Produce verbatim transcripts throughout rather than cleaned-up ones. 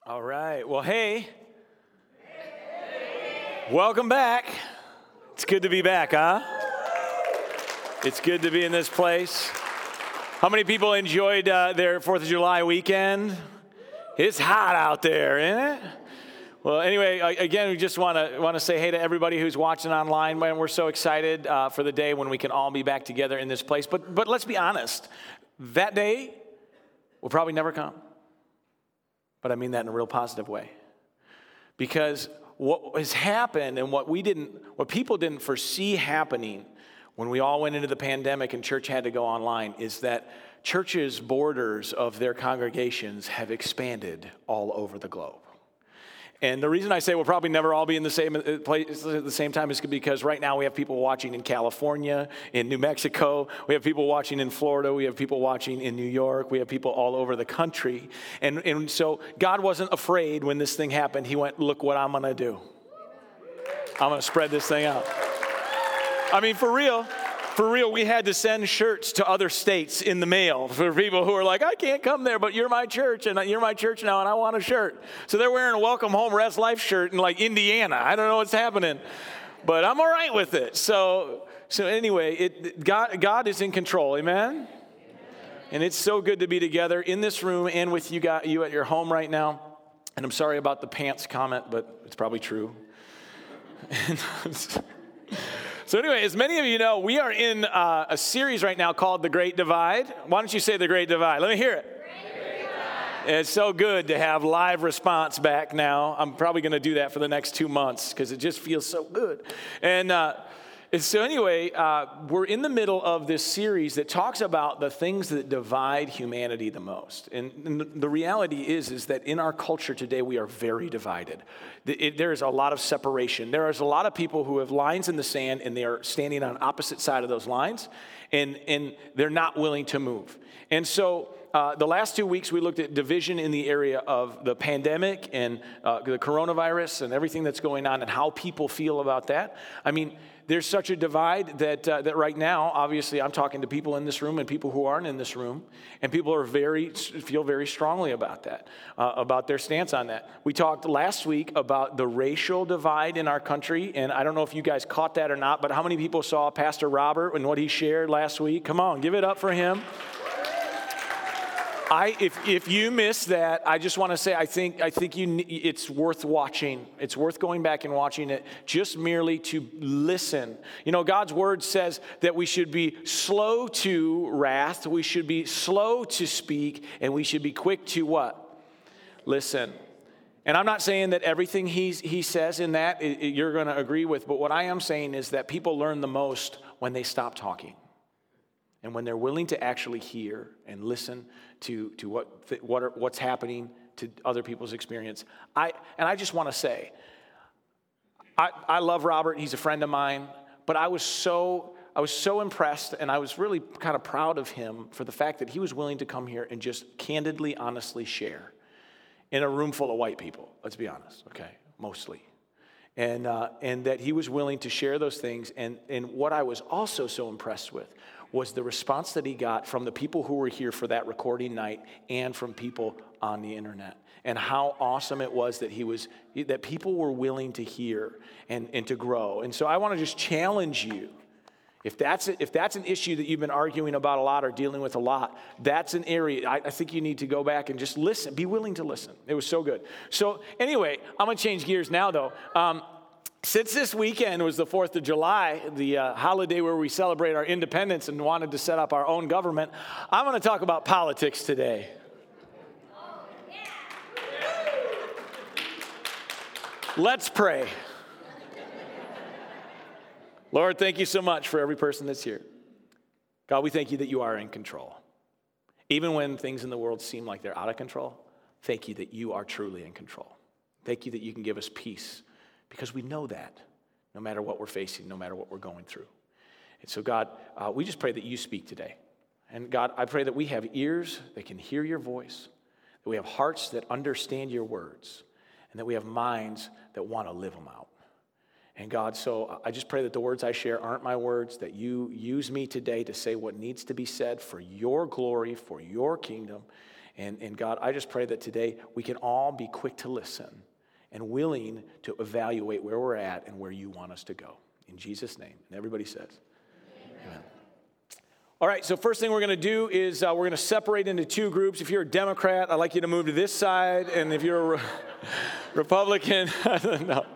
All right. Well, hey. Welcome back. It's good to be back, huh? It's good to be in this place. How many people enjoyed uh, their fourth of July weekend? It's hot out there, isn't it? Well, anyway, again, we just want to want to say hey to everybody who's watching online. Man, we're so excited uh, for the day when we can all be back together in this place. But but let's be honest, that day will probably never come. But I mean that in a real positive way. Because what has happened and what we didn't, what people didn't foresee happening when we all went into the pandemic and church had to go online is that churches' borders of their congregations have expanded all over the globe. And the reason I say we'll probably never all be in the same place at the same time is because right now we have people watching in California, in New Mexico. We have people watching in Florida. We have people watching in New York. We have people all over the country. And, and so God wasn't afraid when this thing happened. He went, look what I'm going to do. I'm going to spread this thing out. I mean, for real. For real, we had to send shirts to other states in the mail for people who are like, I can't come there, but you're my church, and you're my church now, and I want a shirt. So they're wearing a Welcome Home Res Life shirt in like Indiana. I don't know what's happening, but I'm all right with it. So, so anyway, it, God, God is in control, amen? And it's so good to be together in this room and with you, got you at your home right now. And I'm sorry about the pants comment, but it's probably true. So anyway, as many of you know, we are in uh, a series right now called The Great Divide. Why don't you say The Great Divide? Let me hear it. Great Divide. It's so good to have live response back now. I'm probably going to do that for the next two months because it just feels so good. And uh, and so anyway, uh, we're in the middle of this series that talks about the things that divide humanity the most. And, and the reality is, is that in our culture today, we are very divided. It, it, there is a lot of separation. There is a lot of people who have lines in the sand, and they are standing on opposite side of those lines, and, and they're not willing to move. And so uh, the last two weeks, we looked at division in the area of the pandemic and uh, the coronavirus and everything that's going on and how people feel about that. I mean, there's such a divide that uh, that right now, obviously, I'm talking to people in this room and people who aren't in this room, and people are very feel very strongly about that, uh, about their stance on that. We talked last week about the racial divide in our country, and I don't know if you guys caught that or not, but how many people saw Pastor Robert and what he shared last week? Come on, give it up for him. I, if if you missed that, I just want to say I think I think you it's worth watching. It's worth going back and watching it just merely to listen. You know, God's word says that we should be slow to wrath, we should be slow to speak, and we should be quick to what? Listen. And I'm not saying that everything he's, he says in that it, it, you're going to agree with, but what I am saying is that people learn the most when they stop talking. And when they're willing to actually hear and listen to, to what, th- what are, what's happening to other people's experience. I and I just want to say, I, I love Robert. He's a friend of mine. But I was so I was so impressed, and I was really kind of proud of him for the fact that he was willing to come here and just candidly, honestly share in a room full of white people. Let's be honest, okay, mostly. And uh, and that he was willing to share those things. And, and what I was also so impressed with was the response that he got from the people who were here for that recording night and from people on the internet. And how awesome it was that he was that people were willing to hear and, and to grow. And so I want to just challenge you. If that's if that's an issue that you've been arguing about a lot or dealing with a lot, that's an area I, I think you need to go back and just listen. Be willing to listen. It was so good. So anyway, I'm going to change gears now, though. Um, since this weekend was the fourth of July, the uh, holiday where we celebrate our independence and wanted to set up our own government, I'm going to talk about politics today. Let's pray. Lord, thank you so much for every person that's here. God, we thank you that you are in control. Even when things in the world seem like they're out of control, thank you that you are truly in control. Thank you that you can give us peace because we know that no matter what we're facing, no matter what we're going through. And so, God, uh, we just pray that you speak today. And God, I pray that we have ears that can hear your voice, that we have hearts that understand your words, and that we have minds that want to live them out. And God, so I just pray that the words I share aren't my words, that you use me today to say what needs to be said for your glory, for your kingdom, And, and God, I just pray that today we can all be quick to listen and willing to evaluate where we're at and where you want us to go. In Jesus' name. And everybody says, amen. Amen. All right, so first thing we're going to do is uh, we're going to separate into two groups. If you're a Democrat, I'd like you to move to this side. And if you're a Re- Republican, no.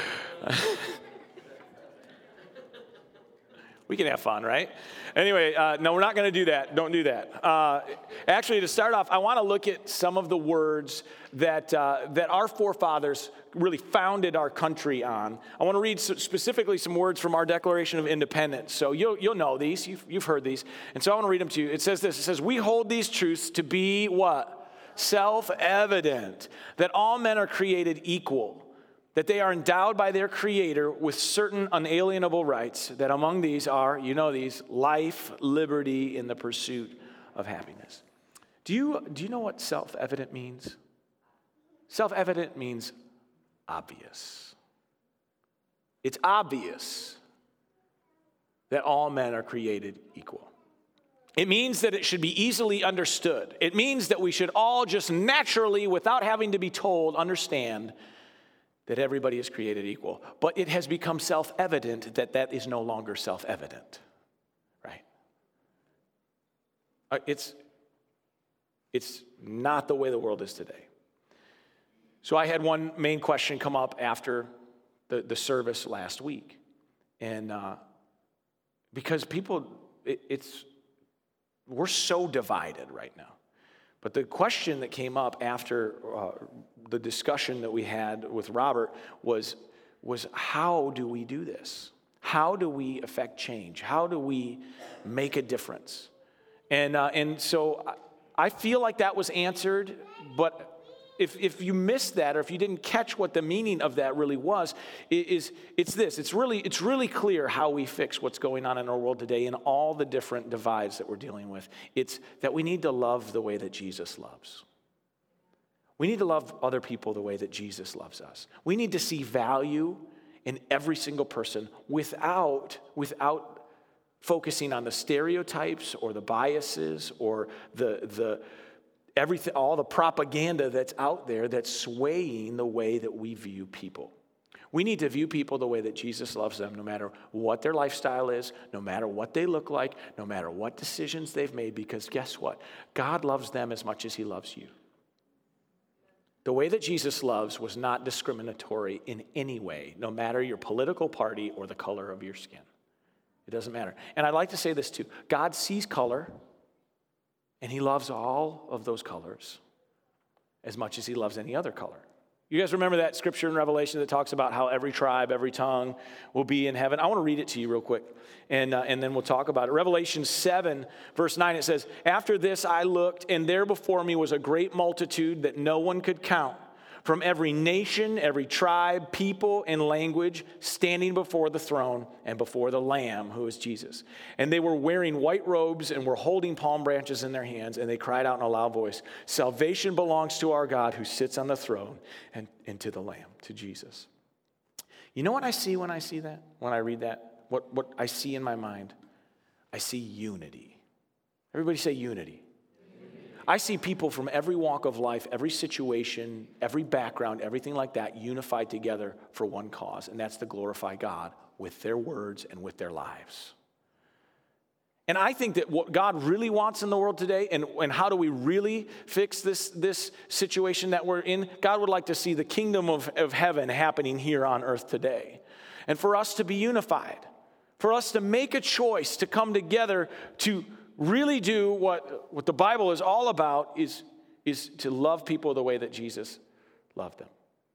We can have fun, right? Anyway, uh, no, we're not going to do that. Don't do that. Uh, actually, to start off, I want to look at some of the words that uh, that our forefathers really founded our country on. I want to read specifically some words from our Declaration of Independence. So you'll you'll know these. You've, you've heard these. And so I want to read them to you. It says this. It says, we hold these truths to be what? Self-evident, that all men are created equal, that they are endowed by their Creator with certain unalienable rights, that among these are, you know these, life, liberty, and the pursuit of happiness. Do you, do you know what self-evident means? Self-evident means obvious. It's obvious that all men are created equal. It means that it should be easily understood. It means that we should all just naturally, without having to be told, understand that everybody is created equal. But it has become self-evident that that is no longer self-evident, right? It's, it's not the way the world is today. So I had one main question come up after the, the service last week. And uh, because people, it, it's, we're so divided right now. But the question that came up after uh, the discussion that we had with Robert was, was how do we do this? How do we affect change? How do we make a difference? And uh, and so I feel like that was answered, but if if you missed that or if you didn't catch what the meaning of that really was, it is it's this. It's really it's really clear how we fix what's going on in our world today and all the different divides that we're dealing with. It's that we need to love the way that Jesus loves. We need to love other people the way that Jesus loves us. We need to see value in every single person without without focusing on the stereotypes or the biases or the the everything, all the propaganda that's out there that's swaying the way that we view people. We need to view people the way that Jesus loves them, no matter what their lifestyle is, no matter what they look like, no matter what decisions they've made, because guess what? God loves them as much as he loves you. The way that Jesus loves was not discriminatory in any way, no matter your political party or the color of your skin. It doesn't matter. And I'd like to say this too. God sees color, and he loves all of those colors as much as he loves any other color. You guys remember that scripture in Revelation that talks about how every tribe, every tongue will be in heaven? I want to read it to you real quick, and, uh, and then we'll talk about it. Revelation seven, verse nine, it says, after this I looked, and there before me was a great multitude that no one could count, from every nation, every tribe, people, and language, standing before the throne and before the Lamb, who is Jesus. And they were wearing white robes and were holding palm branches in their hands, and they cried out in a loud voice, salvation belongs to our God who sits on the throne and, and to the Lamb, to Jesus. You know what I see when I see that? When I read that? What, what I see in my mind? I see unity. Everybody say unity. I see people from every walk of life, every situation, every background, everything like that, unified together for one cause, and that's to glorify God with their words and with their lives. And I think that what God really wants in the world today, and, and how do we really fix this, this situation that we're in, God would like to see the kingdom of, of heaven happening here on earth today. And for us to be unified, for us to make a choice to come together to really do what, what the Bible is all about is, is to love people the way that Jesus loved them.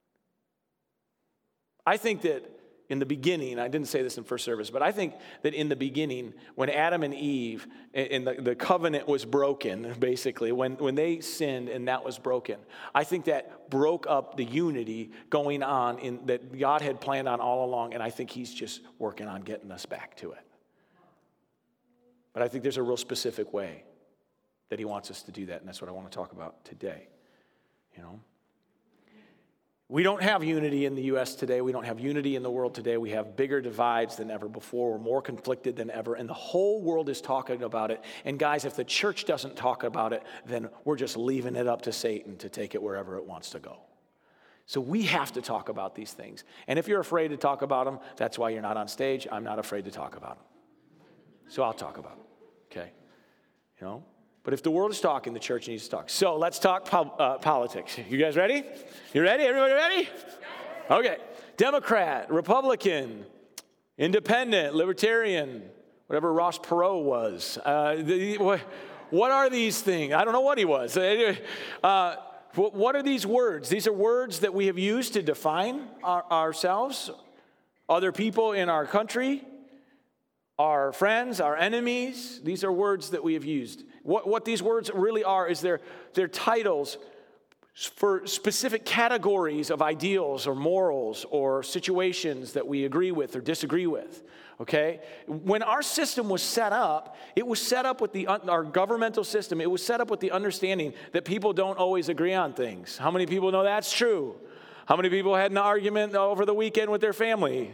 I think that in the beginning, I didn't say this in first service, but I think that in the beginning, when Adam and Eve, and the, the covenant was broken, basically, when, when they sinned and that was broken, I think that broke up the unity going on in, that God had planned on all along, and I think he's just working on getting us back to it. But I think there's a real specific way that he wants us to do that, and that's what I want to talk about today. You know, We don't have unity in the U S today. We don't have unity in the world today. We have bigger divides than ever before. We're more conflicted than ever, and the whole world is talking about it. And guys, if the church doesn't talk about it, then we're just leaving it up to Satan to take it wherever it wants to go. So we have to talk about these things. And if you're afraid to talk about them, that's why you're not on stage. I'm not afraid to talk about them. So I'll talk about them, okay? You know? But if the world is talking, the church needs to talk. So let's talk po- uh, politics. You guys ready? You ready? Everybody ready? Okay. Democrat, Republican, Independent, Libertarian, whatever Ross Perot was. Uh, the, what, what are these things? I don't know what he was. Uh, what are these words? These are words that we have used to define our, ourselves, other people in our country, our friends, our enemies. These are words that we have used. What, what these words really are is they're, they're titles for specific categories of ideals or morals or situations that we agree with or disagree with, okay? When our system was set up, it was set up with the, our governmental system, it was set up with the understanding that people don't always agree on things. How many people know that's true? How many people had an argument over the weekend with their family?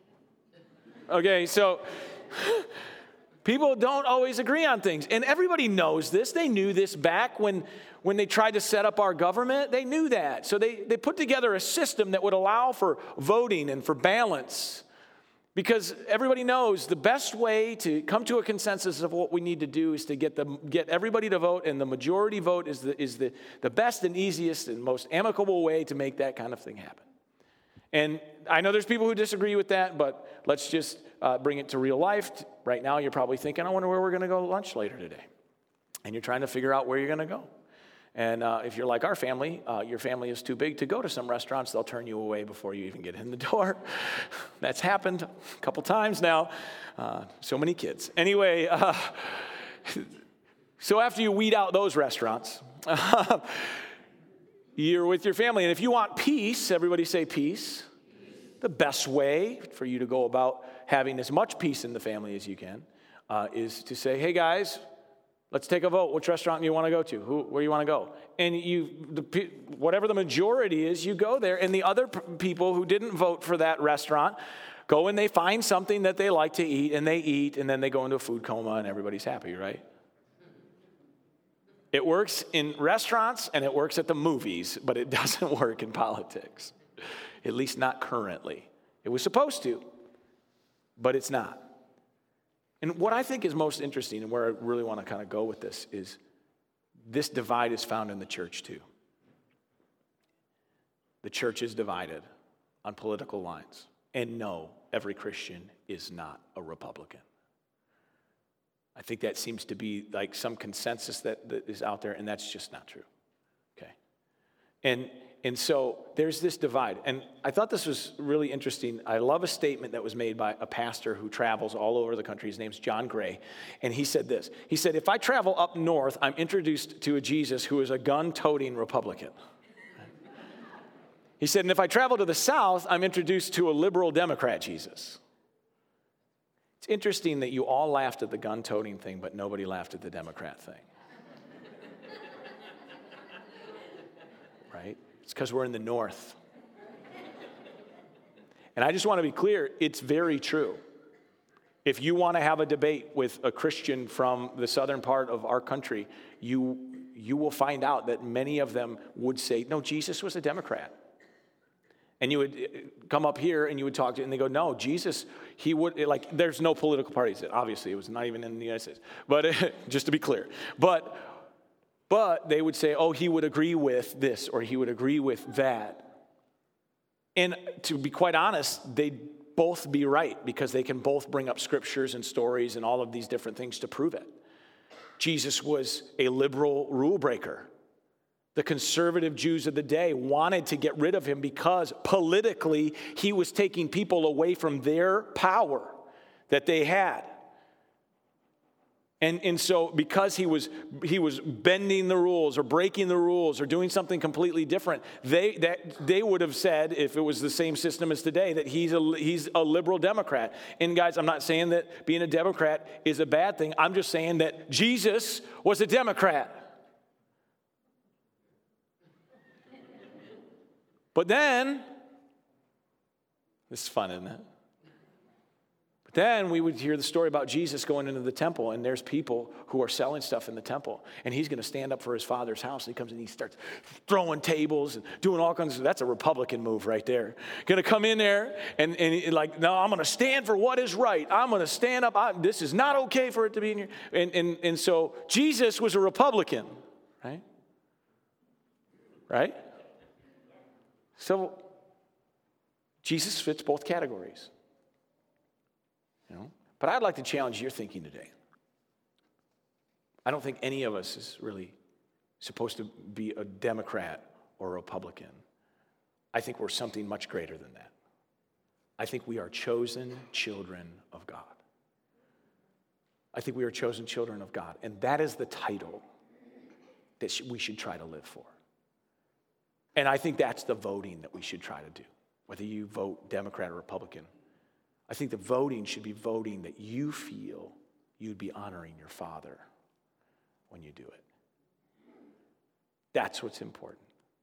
Okay, so people don't always agree on things. And everybody knows this. They knew this back when, when they tried to set up our government. They knew that. So they, they put together a system that would allow for voting and for balance. Because everybody knows the best way to come to a consensus of what we need to do is to get the get everybody to vote, and the majority vote is the is the, the best and easiest and most amicable way to make that kind of thing happen. And I know there's people who disagree with that, but let's just uh, bring it to real life. Right now, you're probably thinking, I wonder where we're going to go to lunch later today. And you're trying to figure out where you're going to go. And uh, if you're like our family, uh, your family is too big to go to some restaurants. They'll turn you away before you even get in the door. That's happened a couple times now. Uh, so many kids. Anyway, uh, so after you weed out those restaurants, you're with your family. And if you want peace, everybody say peace. The best way for you to go about having as much peace in the family as you can uh, is to say, hey guys, let's take a vote. Which restaurant do you want to go to? Who, where do you want to go? And you, the, whatever the majority is, you go there. And the other p- people who didn't vote for that restaurant go and they find something that they like to eat, and they eat, and then they go into a food coma, and everybody's happy, right? It works in restaurants, and it works at the movies, but it doesn't work in politics, at least not currently. It was supposed to, but it's not. And what I think is most interesting, and where I really want to kind of go with this, is this divide is found in the church too. The church is divided on political lines. And no, every Christian is not a Republican. I think that seems to be like some consensus that, that is out there, and that's just not true. Okay? And And so there's this divide. And I thought this was really interesting. I love a statement that was made by a pastor who travels all over the country. His name's John Gray. And he said this. He said, if I travel up north, I'm introduced to a Jesus who is a gun-toting Republican. He said, and if I travel to the south, I'm introduced to a liberal Democrat Jesus. It's interesting that you all laughed at the gun-toting thing, but nobody laughed at the Democrat thing. Right? It's because we're in the north. And I just want to be clear, it's very true. If you want to have a debate with a Christian from the southern part of our country, you, you will find out that many of them would say, no, Jesus was a Democrat. And you would come up here and you would talk to, and they go, no, Jesus, he would, like, there's no political parties. Obviously, it was not even in the United States. But just to be clear. But But they would say, oh, he would agree with this or he would agree with that. And to be quite honest, they'd both be right because they can both bring up scriptures and stories and all of these different things to prove it. Jesus was a liberal rule breaker. The conservative Jews of the day wanted to get rid of him because politically he was taking people away from their power that they had. And, and so because he was he was bending the rules or breaking the rules or doing something completely different, they that they would have said, if it was the same system as today, that he's a, he's a liberal Democrat. And guys, I'm not saying that being a Democrat is a bad thing. I'm just saying that Jesus was a Democrat. But then, this is fun, isn't it? But then we would hear the story about Jesus going into the temple, and there's people who are selling stuff in the temple, and he's going to stand up for his father's house. And he comes and he starts throwing tables and doing all kinds of, that's a Republican move right there. Going to come in there and, and he, like, no, I'm going to stand for what is right. I'm going to stand up. I, this is not okay for it to be in here. And, and, and so Jesus was a Republican, right? Right? So Jesus fits both categories. You know? But I'd like to challenge your thinking today. I don't think any of us is really supposed to be a Democrat or a Republican. I think we're something much greater than that. I think we are chosen children of God. I think we are chosen children of God. And that is the title that we should try to live for. And I think that's the voting that we should try to do, whether you vote Democrat or Republican. I think the voting should be voting that you feel you'd be honoring your Father when you do it. That's what's important.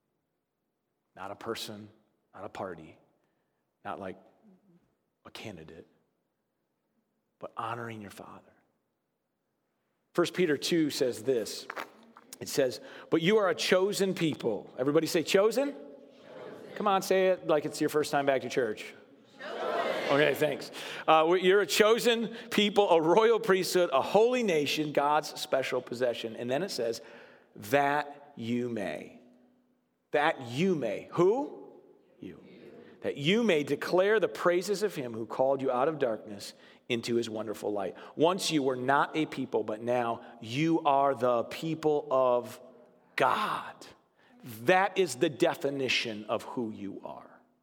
Not a person, not a party, not like a candidate, but honoring your Father. First Peter two says this. It says, but you are a chosen people. Everybody say chosen? Chosen. Come on, say it like it's your first time back to church. Okay, thanks. Uh, you're a chosen people, a royal priesthood, a holy nation, God's special possession. And then it says, that you may. That you may. Who? You. That you may declare the praises of him who called you out of darkness into his wonderful light. Once you were not a people, but now you are the people of God. That is the definition of who you are.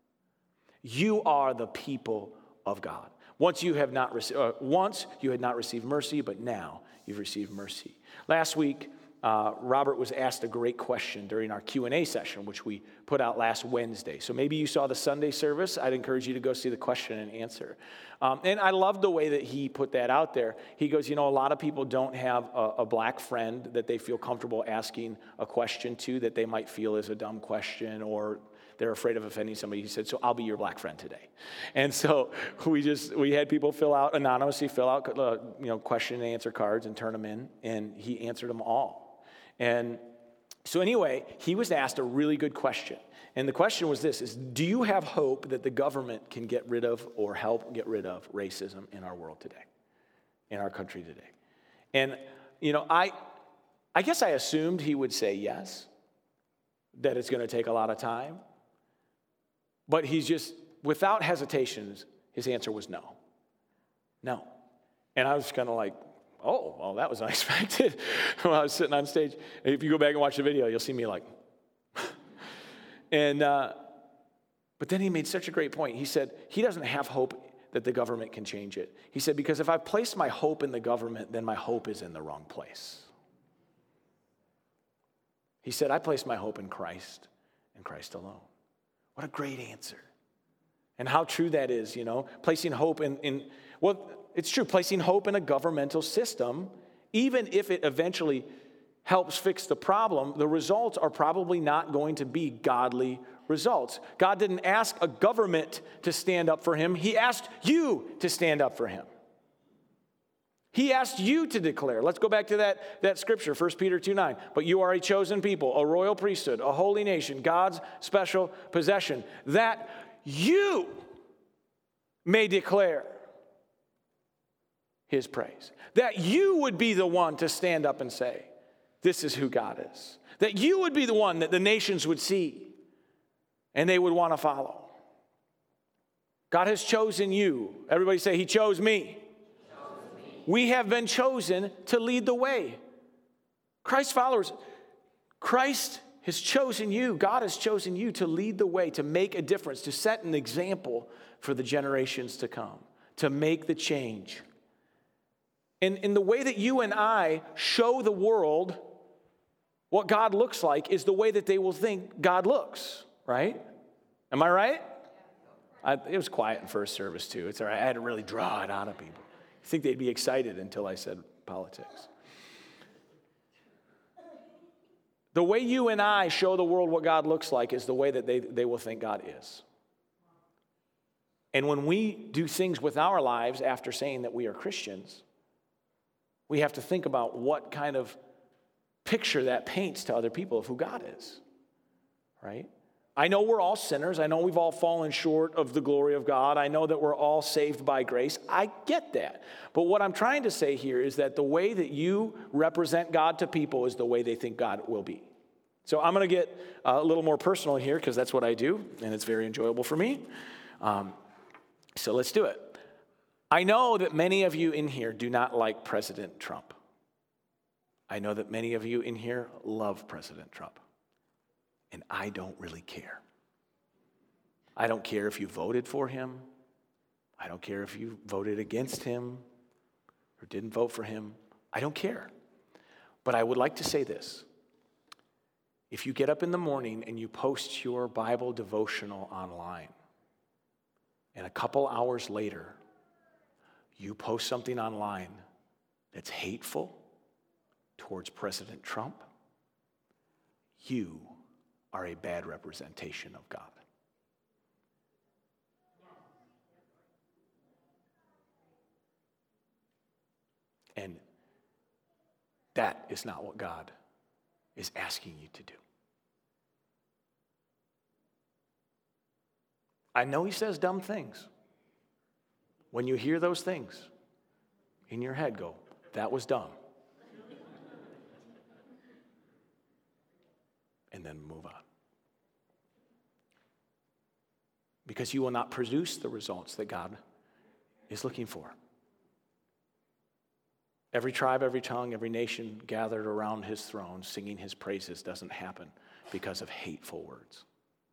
You are the people of God. Once you have not received, uh, once you had not received mercy, but now you've received mercy. Last week, uh, Robert was asked a great question during our Q and A session, which we put out last Wednesday. So maybe you saw the Sunday service. I'd encourage you to go see the question and answer. Um, and I love the way that he put that out there. He goes, you know, a lot of people don't have a, a black friend that they feel comfortable asking a question to that they might feel is a dumb question, or they're afraid of offending somebody. He said, so I'll be your black friend today. And so we just, we had people fill out, anonymously fill out, uh, you know, question and answer cards and turn them in, and he answered them all. And so anyway, he was asked a really good question. And the question was this, is do you have hope that the government can get rid of or help get rid of racism in our world today, in our country today? And, you know, I, I guess I assumed he would say yes, that it's going to take a lot of time. But he's just, without hesitations, his answer was no. No. And I was kind of like, oh, well, that was unexpected when I was sitting on stage. If you go back and watch the video, you'll see me like, and, uh, but then he made such a great point. He said he doesn't have hope that the government can change it. He said, because if I place my hope in the government, then my hope is in the wrong place. He said, I place my hope in Christ and Christ alone. What a great answer. And how true that is, you know, placing hope in, in, well, it's true, placing hope in a governmental system, even if it eventually helps fix the problem, the results are probably not going to be godly results. God didn't ask a government to stand up for him. He asked you to stand up for him. He asked you to declare. Let's go back to that, that scripture, First Peter two nine. But you are a chosen people, a royal priesthood, a holy nation, God's special possession, that you may declare his praise. That you would be the one to stand up and say, this is who God is. That you would be the one that the nations would see and they would want to follow. God has chosen you. Everybody say, he chose me. We have been chosen to lead the way. Christ followers, Christ has chosen you. God has chosen you to lead the way, to make a difference, to set an example for the generations to come, to make the change. And in the way that you and I show the world what God looks like is the way that they will think God looks, right? Am I right? I, it was quiet in first service too. It's all right. I had to really draw it out of people. I think they'd be excited until I said politics. The way you and I show the world what God looks like is the way that they, they will think God is. And when we do things with our lives after saying that we are Christians, we have to think about what kind of picture that paints to other people of who God is, right? I know we're all sinners. I know we've all fallen short of the glory of God. I know that we're all saved by grace. I get that. But what I'm trying to say here is that the way that you represent God to people is the way they think God will be. So I'm going to get a little more personal here because that's what I do, and it's very enjoyable for me. Um, so let's do it. I know that many of you in here do not like President Trump. I know that many of you in here love President Trump. And I don't really care. I don't care if you voted for him. I don't care if you voted against him or didn't vote for him. I don't care. But I would like to say this. If you get up in the morning and you post your Bible devotional online, and a couple hours later, you post something online that's hateful towards President Trump, you are a bad representation of God. And that is not what God is asking you to do. I know he says dumb things. When you hear those things, in your head go, that was dumb. And then move on. Because you will not produce the results that God is looking for. Every tribe, every tongue, every nation gathered around his throne singing his praises doesn't happen because of hateful words.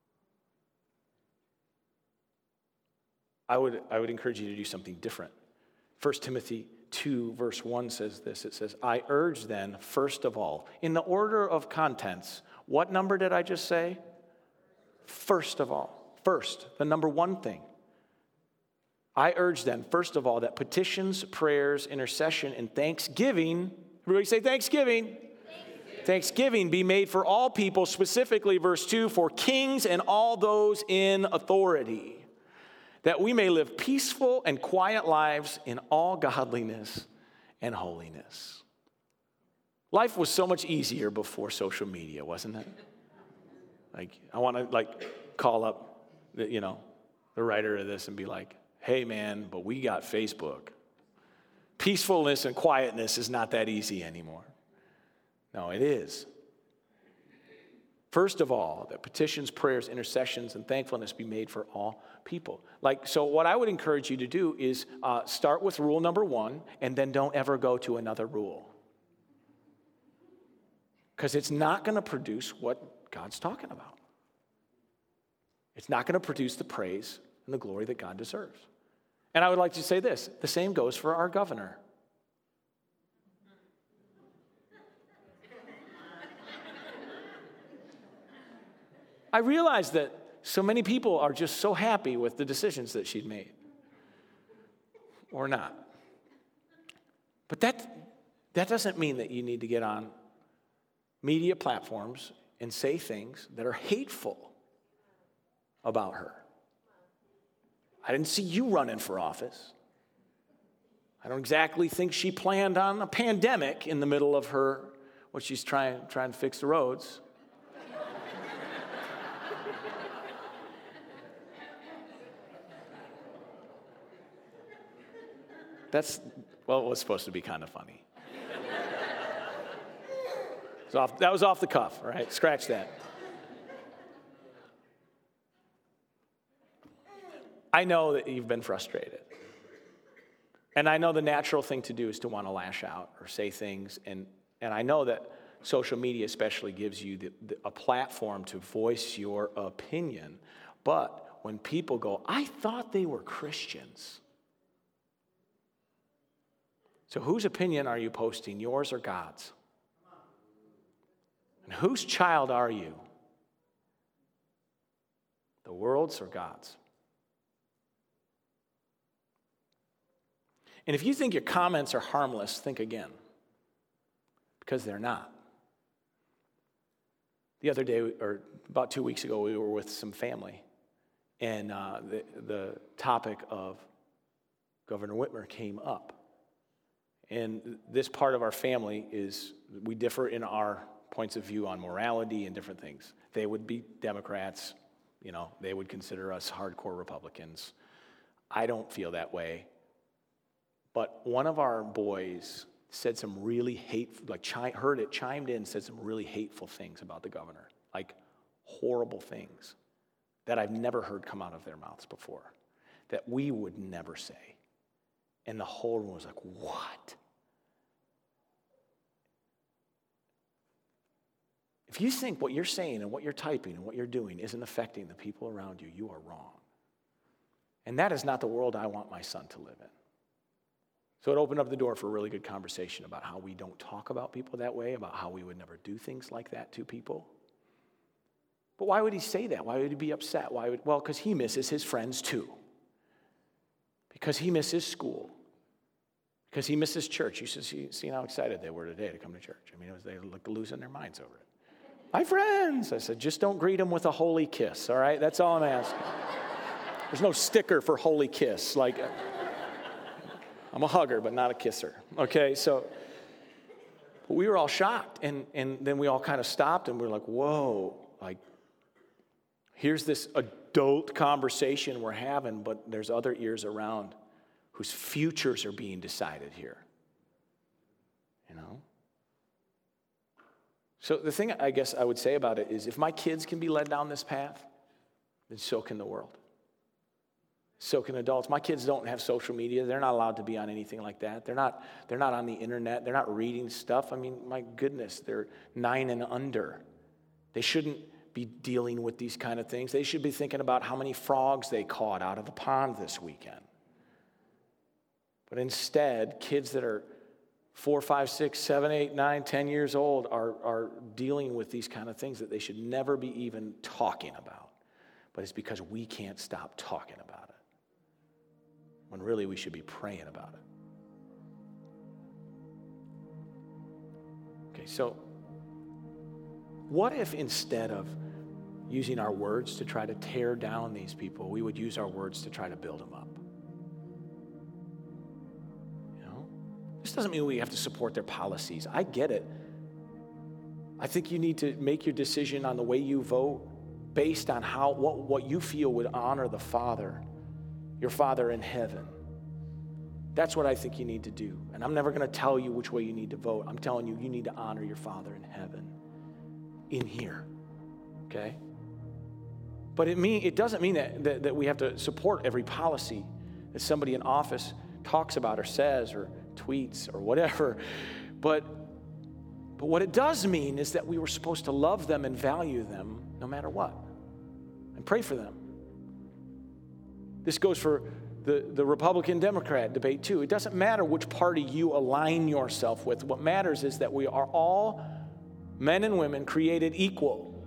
I would, I would encourage you to do something different. First Timothy two, verse one says this. It says, I urge then, first of all, in the order of contents, what number did I just say? First of all. First, the number one thing. I urge then, first of all, that petitions, prayers, intercession, and thanksgiving, everybody say thanksgiving. Thanksgiving. Thanksgiving be made for all people, specifically verse two, for kings and all those in authority, that we may live peaceful and quiet lives in all godliness and holiness. Life was so much easier before social media, wasn't it? Like, I want to, like, call up, the, you know, the writer of this and be like, hey, man, but we got Facebook. Peacefulness and quietness is not that easy anymore. No, it is. First of all, that petitions, prayers, intercessions, and thankfulness be made for all people. Like, so what I would encourage you to do is uh, start with rule number one, and then don't ever go to another rule. Because it's not going to produce what God's talking about. It's not going to produce the praise and the glory that God deserves. And I would like to say this, the same goes for our governor. I realize that so many people are just so happy with the decisions that she'd made. Or not. But that, that doesn't mean that you need to get on media platforms and say things that are hateful about her. I didn't see you running for office. I don't exactly think she planned on a pandemic in the middle of her, what she's trying, trying to fix the roads. That's, well, it was supposed to be kind of funny. It was off, that was off the cuff, all right? Scratch that. I know that you've been frustrated. And I know the natural thing to do is to want to lash out or say things. And, and I know that social media especially gives you the, the, a platform to voice your opinion. But when people go, I thought they were Christians. So whose opinion are you posting, yours or God's? And whose child are you? The world's or God's? And if you think your comments are harmless, think again. Because they're not. The other day, or about two weeks ago, we were with some family, and uh, the, the topic of Governor Whitmer came up. And this part of our family is, we differ in our points of view on morality and different things. They would be Democrats, you know, they would consider us hardcore Republicans. I don't feel that way. But one of our boys said some really hateful, like chi- heard it, chimed in, said some really hateful things about the governor, like horrible things that I've never heard come out of their mouths before, that we would never say. And the whole room was like, what? If you think what you're saying and what you're typing and what you're doing isn't affecting the people around you, you are wrong. And that is not the world I want my son to live in. So it opened up the door for a really good conversation about how we don't talk about people that way, about how we would never do things like that to people. But why would he say that? Why would he be upset? Why would, well, because he misses his friends too. Because he misses school. Because he misses church. You should see, see how excited they were today to come to church. I mean, it was, they looked losing their minds over it. My friends, I said, just don't greet them with a holy kiss, all right? That's all I'm asking. There's no sticker for holy kiss. Like, I'm a hugger, but not a kisser. Okay, so but we were all shocked, and, and then we all kind of stopped, and we were like, whoa, like, here's this adult conversation we're having, but there's other ears around whose futures are being decided here. You know? So the thing I guess I would say about it is, if my kids can be led down this path, then so can the world. So can adults. My kids don't have social media. They're not allowed to be on anything like that. They're not, they're not on the internet. They're not reading stuff. I mean, my goodness, they're nine and under. They shouldn't be dealing with these kind of things. They should be thinking about how many frogs they caught out of the pond this weekend. But instead, kids that are four, five, six, seven, eight, nine, ten years old are, are dealing with these kind of things that they should never be even talking about. But it's because we can't stop talking about it, when really we should be praying about it. Okay, so what if instead of using our words to try to tear down these people, we would use our words to try to build them up? You know, this doesn't mean we have to support their policies. I get it. I think you need to make your decision on the way you vote based on how what, what you feel would honor the Father, your Father in heaven. That's what I think you need to do. And I'm never going to tell you which way you need to vote. I'm telling you, you need to honor your Father in heaven in here, okay? But it mean it doesn't mean that, that, that we have to support every policy that somebody in office talks about or says or tweets or whatever. But, but what it does mean is that we were supposed to love them and value them no matter what, and pray for them. This goes for the, the Republican-Democrat debate too. It doesn't matter which party you align yourself with. What matters is that we are all men and women created equal.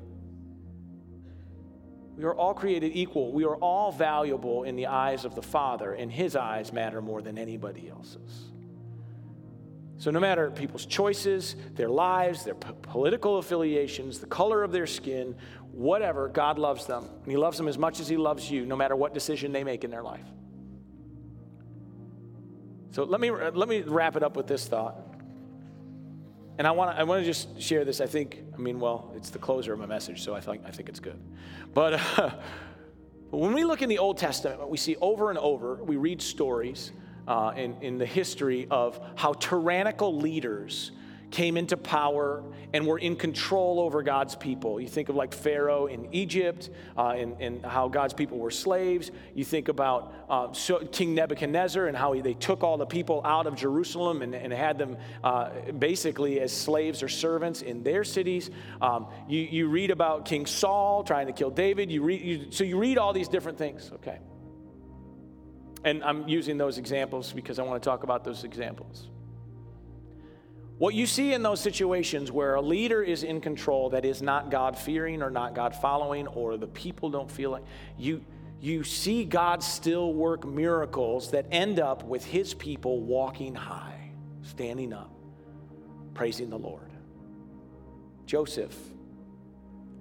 We are all created equal. We are all valuable in the eyes of the Father, and His eyes matter more than anybody else's. So no matter people's choices, their lives, their p- political affiliations, the color of their skin, whatever, God loves them. And He loves them as much as He loves you, no matter what decision they make in their life. So let me let me wrap it up with this thought. And I want to I want to just share this. I think, I mean, well, it's the closer of my message, so I think I think it's good. But, uh, but when we look in the Old Testament, we see over and over, we read stories uh, in, in the history of how tyrannical leaders came into power and were in control over God's people. You think of like Pharaoh in Egypt, uh, and, and how God's people were slaves. You think about uh, so King Nebuchadnezzar and how he, they took all the people out of Jerusalem and, and had them uh, basically as slaves or servants in their cities. Um, you, you read about King Saul trying to kill David. You read, you, so you read all these different things, okay? And I'm using those examples because I want to talk about those examples. What you see in those situations where a leader is in control that is not God-fearing or not God-following, or the people don't feel like, you, you see God still work miracles that end up with His people walking high, standing up, praising the Lord. Joseph,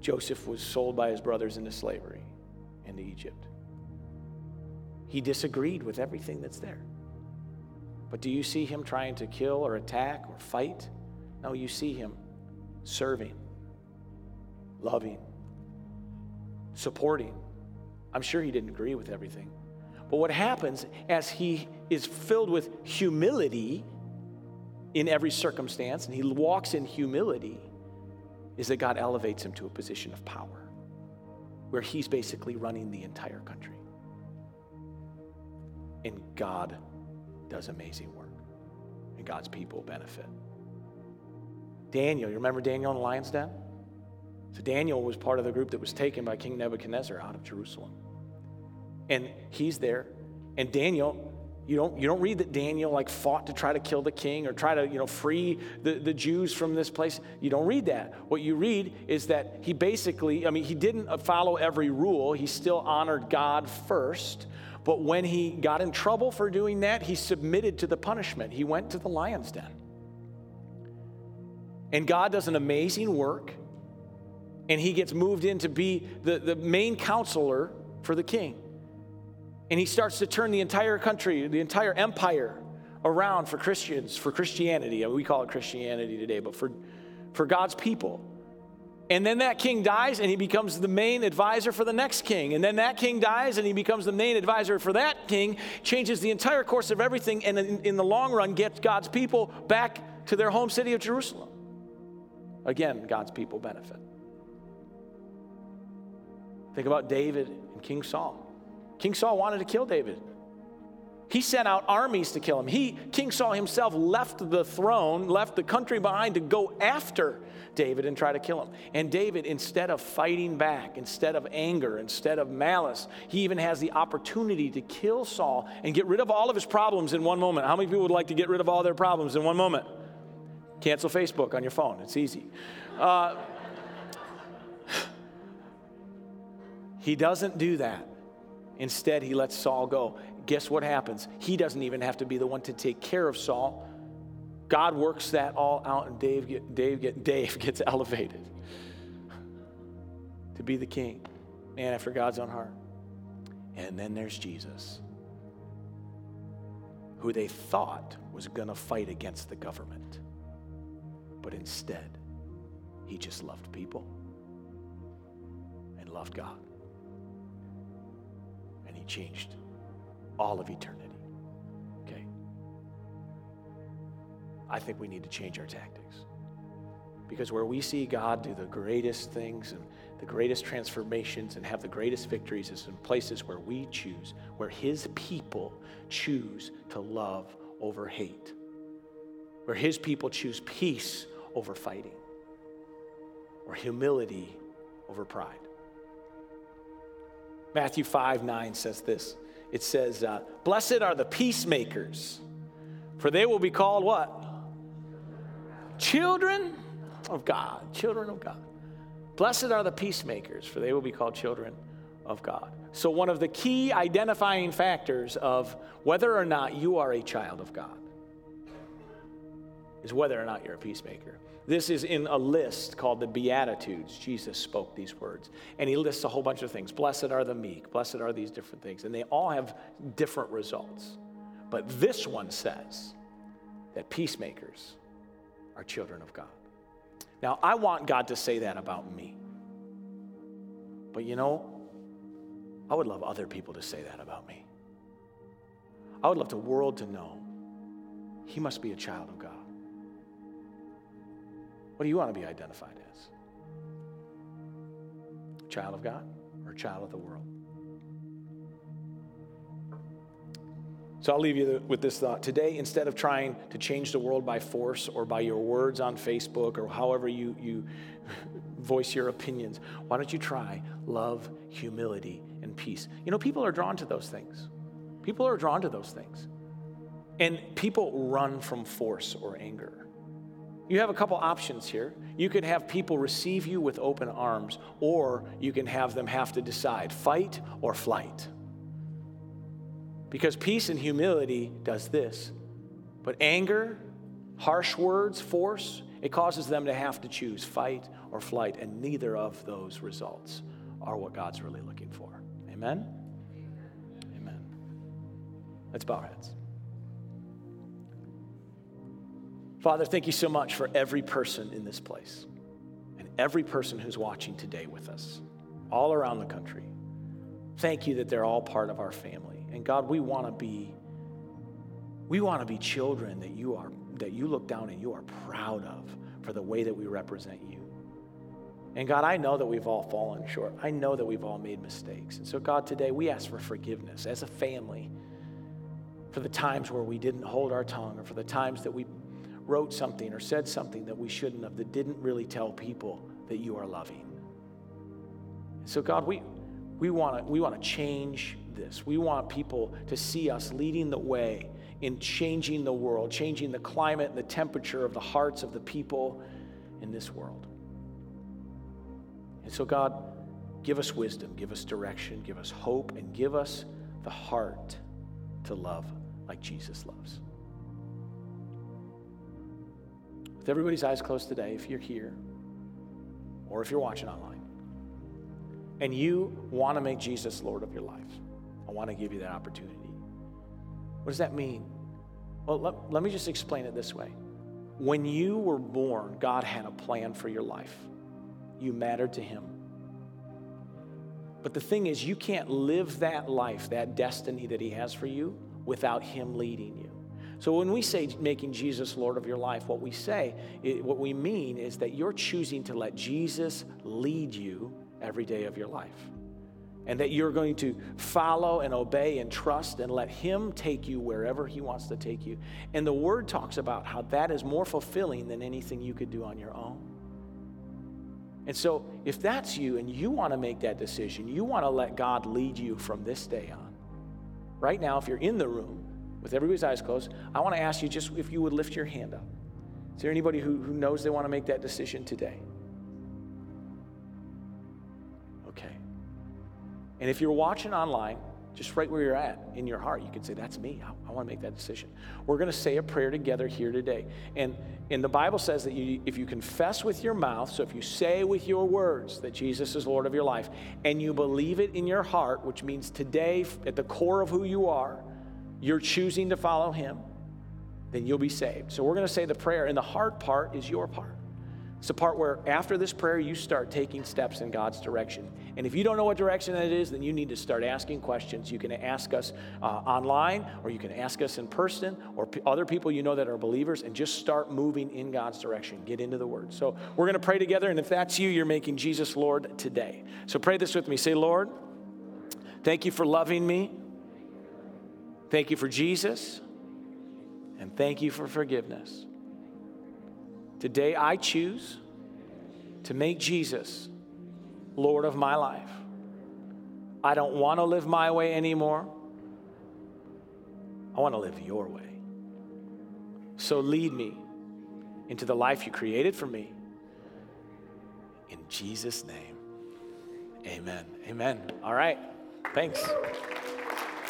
Joseph was sold by his brothers into slavery into Egypt. He disagreed with everything that's there. But do you see him trying to kill or attack or fight? No, you see him serving, loving, supporting. I'm sure he didn't agree with everything. But what happens as he is filled with humility in every circumstance, and he walks in humility, is that God elevates him to a position of power where he's basically running the entire country. And God does amazing work, and God's people benefit. Daniel, you remember Daniel in the lion's den? So Daniel was part of the group that was taken by King Nebuchadnezzar out of Jerusalem. And he's there, and Daniel, you don't, you don't read that Daniel like fought to try to kill the king or try to, you know, free the, the Jews from this place. You don't read that. What you read is that he basically, I mean, he didn't follow every rule. He still honored God first. But when he got in trouble for doing that, he submitted to the punishment. He went to the lion's den. And God does an amazing work, and he gets moved in to be the, the main counselor for the king. And he starts to turn the entire country, the entire empire around for Christians, for Christianity. I mean, we call it Christianity today, but for, for God's people. And then that king dies, and he becomes the main advisor for the next king. And then that king dies, and he becomes the main advisor for that king, changes the entire course of everything, and in, in the long run gets God's people back to their home city of Jerusalem. Again, God's people benefit. Think about David and King Saul. King Saul wanted to kill David. He sent out armies to kill him. He, King Saul himself, left the throne, left the country behind to go after David and try to kill him. And David, instead of fighting back, instead of anger, instead of malice, he even has the opportunity to kill Saul and get rid of all of his problems in one moment. How many people would like to get rid of all their problems in one moment? Cancel Facebook on your phone. It's easy. Uh, he doesn't do that. Instead, he lets Saul go. Guess what happens? He doesn't even have to be the one to take care of Saul. God works that all out, and Dave, get, Dave, get, Dave gets elevated to be the king, man after God's own heart. And then there's Jesus, who they thought was going to fight against the government. But instead, he just loved people and loved God. And he changed all of eternity. Okay? I think we need to change our tactics. Because where we see God do the greatest things and the greatest transformations and have the greatest victories is in places where we choose, where his people choose to love over hate. Where his people choose peace over fighting. Or humility over pride. Matthew five nine says this. It says, uh, blessed are the peacemakers, for they will be called what? Children of God. Children of God. Blessed are the peacemakers, for they will be called children of God. So one of the key identifying factors of whether or not you are a child of God is whether or not you're a peacemaker. This is in a list called the Beatitudes. Jesus spoke these words. And he lists a whole bunch of things. Blessed are the meek. Blessed are these different things. And they all have different results. But this one says that peacemakers are children of God. Now, I want God to say that about me. But you know, I would love other people to say that about me. I would love the world to know he must be a child of God. What do you want to be identified as? A child of God or a child of the world? So I'll leave you with this thought. Today, instead of trying to change the world by force or by your words on Facebook or however you, you voice your opinions, why don't you try love, humility, and peace? You know, people are drawn to those things. People are drawn to those things. And people run from force or anger. You have a couple options here. You could have people receive you with open arms, or you can have them have to decide, fight or flight. Because peace and humility does this. But anger, harsh words, force, It causes them to have to choose fight or flight, and neither of those results are what God's really looking for. Amen? Amen. Let's bow our heads. Father, thank you so much for every person in this place and every person who's watching today with us, all around the country. Thank you that they're all part of our family. And God, we want to be, we want to be children that you are, that you look down and you are proud of for the way that we represent you. And God, I know that we've all fallen short. I know that we've all made mistakes. And so God, today we ask for forgiveness as a family for the times where we didn't hold our tongue, or for the times that we wrote something or said something that we shouldn't have, that didn't really tell people that you are loving. So God, we we want to we want to change this. We want people to see us leading the way in changing the world, changing the climate and the temperature of the hearts of the people in this world. And so God, give us wisdom, give us direction, give us hope, and give us the heart to love like Jesus loves. With everybody's eyes closed today, if you're here or if you're watching online and you want to make Jesus Lord of your life, I want to give you that opportunity. What does that mean? Well, let, let me just explain it this way. When you were born, God had a plan for your life. You mattered to him. But the thing is, you can't live that life, that destiny that he has for you, without him leading you. So when we say making Jesus Lord of your life, what we say, what we mean is that you're choosing to let Jesus lead you every day of your life. And that you're going to follow and obey and trust and let him take you wherever he wants to take you. And the word talks about how that is more fulfilling than anything you could do on your own. And so if that's you and you want to make that decision, you want to let God lead you from this day on. Right now, if you're in the room, with everybody's eyes closed, I want to ask you just if you would lift your hand up. Is there anybody who, who knows they want to make that decision today? Okay. And if you're watching online, just right where you're at, in your heart, you can say, that's me. I, I want to make that decision. We're going to say a prayer together here today. And, and the Bible says that you, if you confess with your mouth, so if you say with your words that Jesus is Lord of your life, and you believe it in your heart, which means today, at the core of who you are, you're choosing to follow him, then you'll be saved. So we're going to say the prayer, and the heart part is your part. It's the part where after this prayer, you start taking steps in God's direction. And if you don't know what direction that is, then you need to start asking questions. You can ask us uh, online, or you can ask us in person, or p- other people you know that are believers, and just start moving in God's direction. Get into the Word. So we're going to pray together, and if that's you, you're making Jesus Lord today. So pray this with me. Say, Lord, thank you for loving me. Thank you for Jesus, and thank you for forgiveness. Today I choose to make Jesus Lord of my life. I don't want to live my way anymore. I want to live your way. So lead me into the life you created for me. In Jesus' name, amen. Amen. All right. Thanks.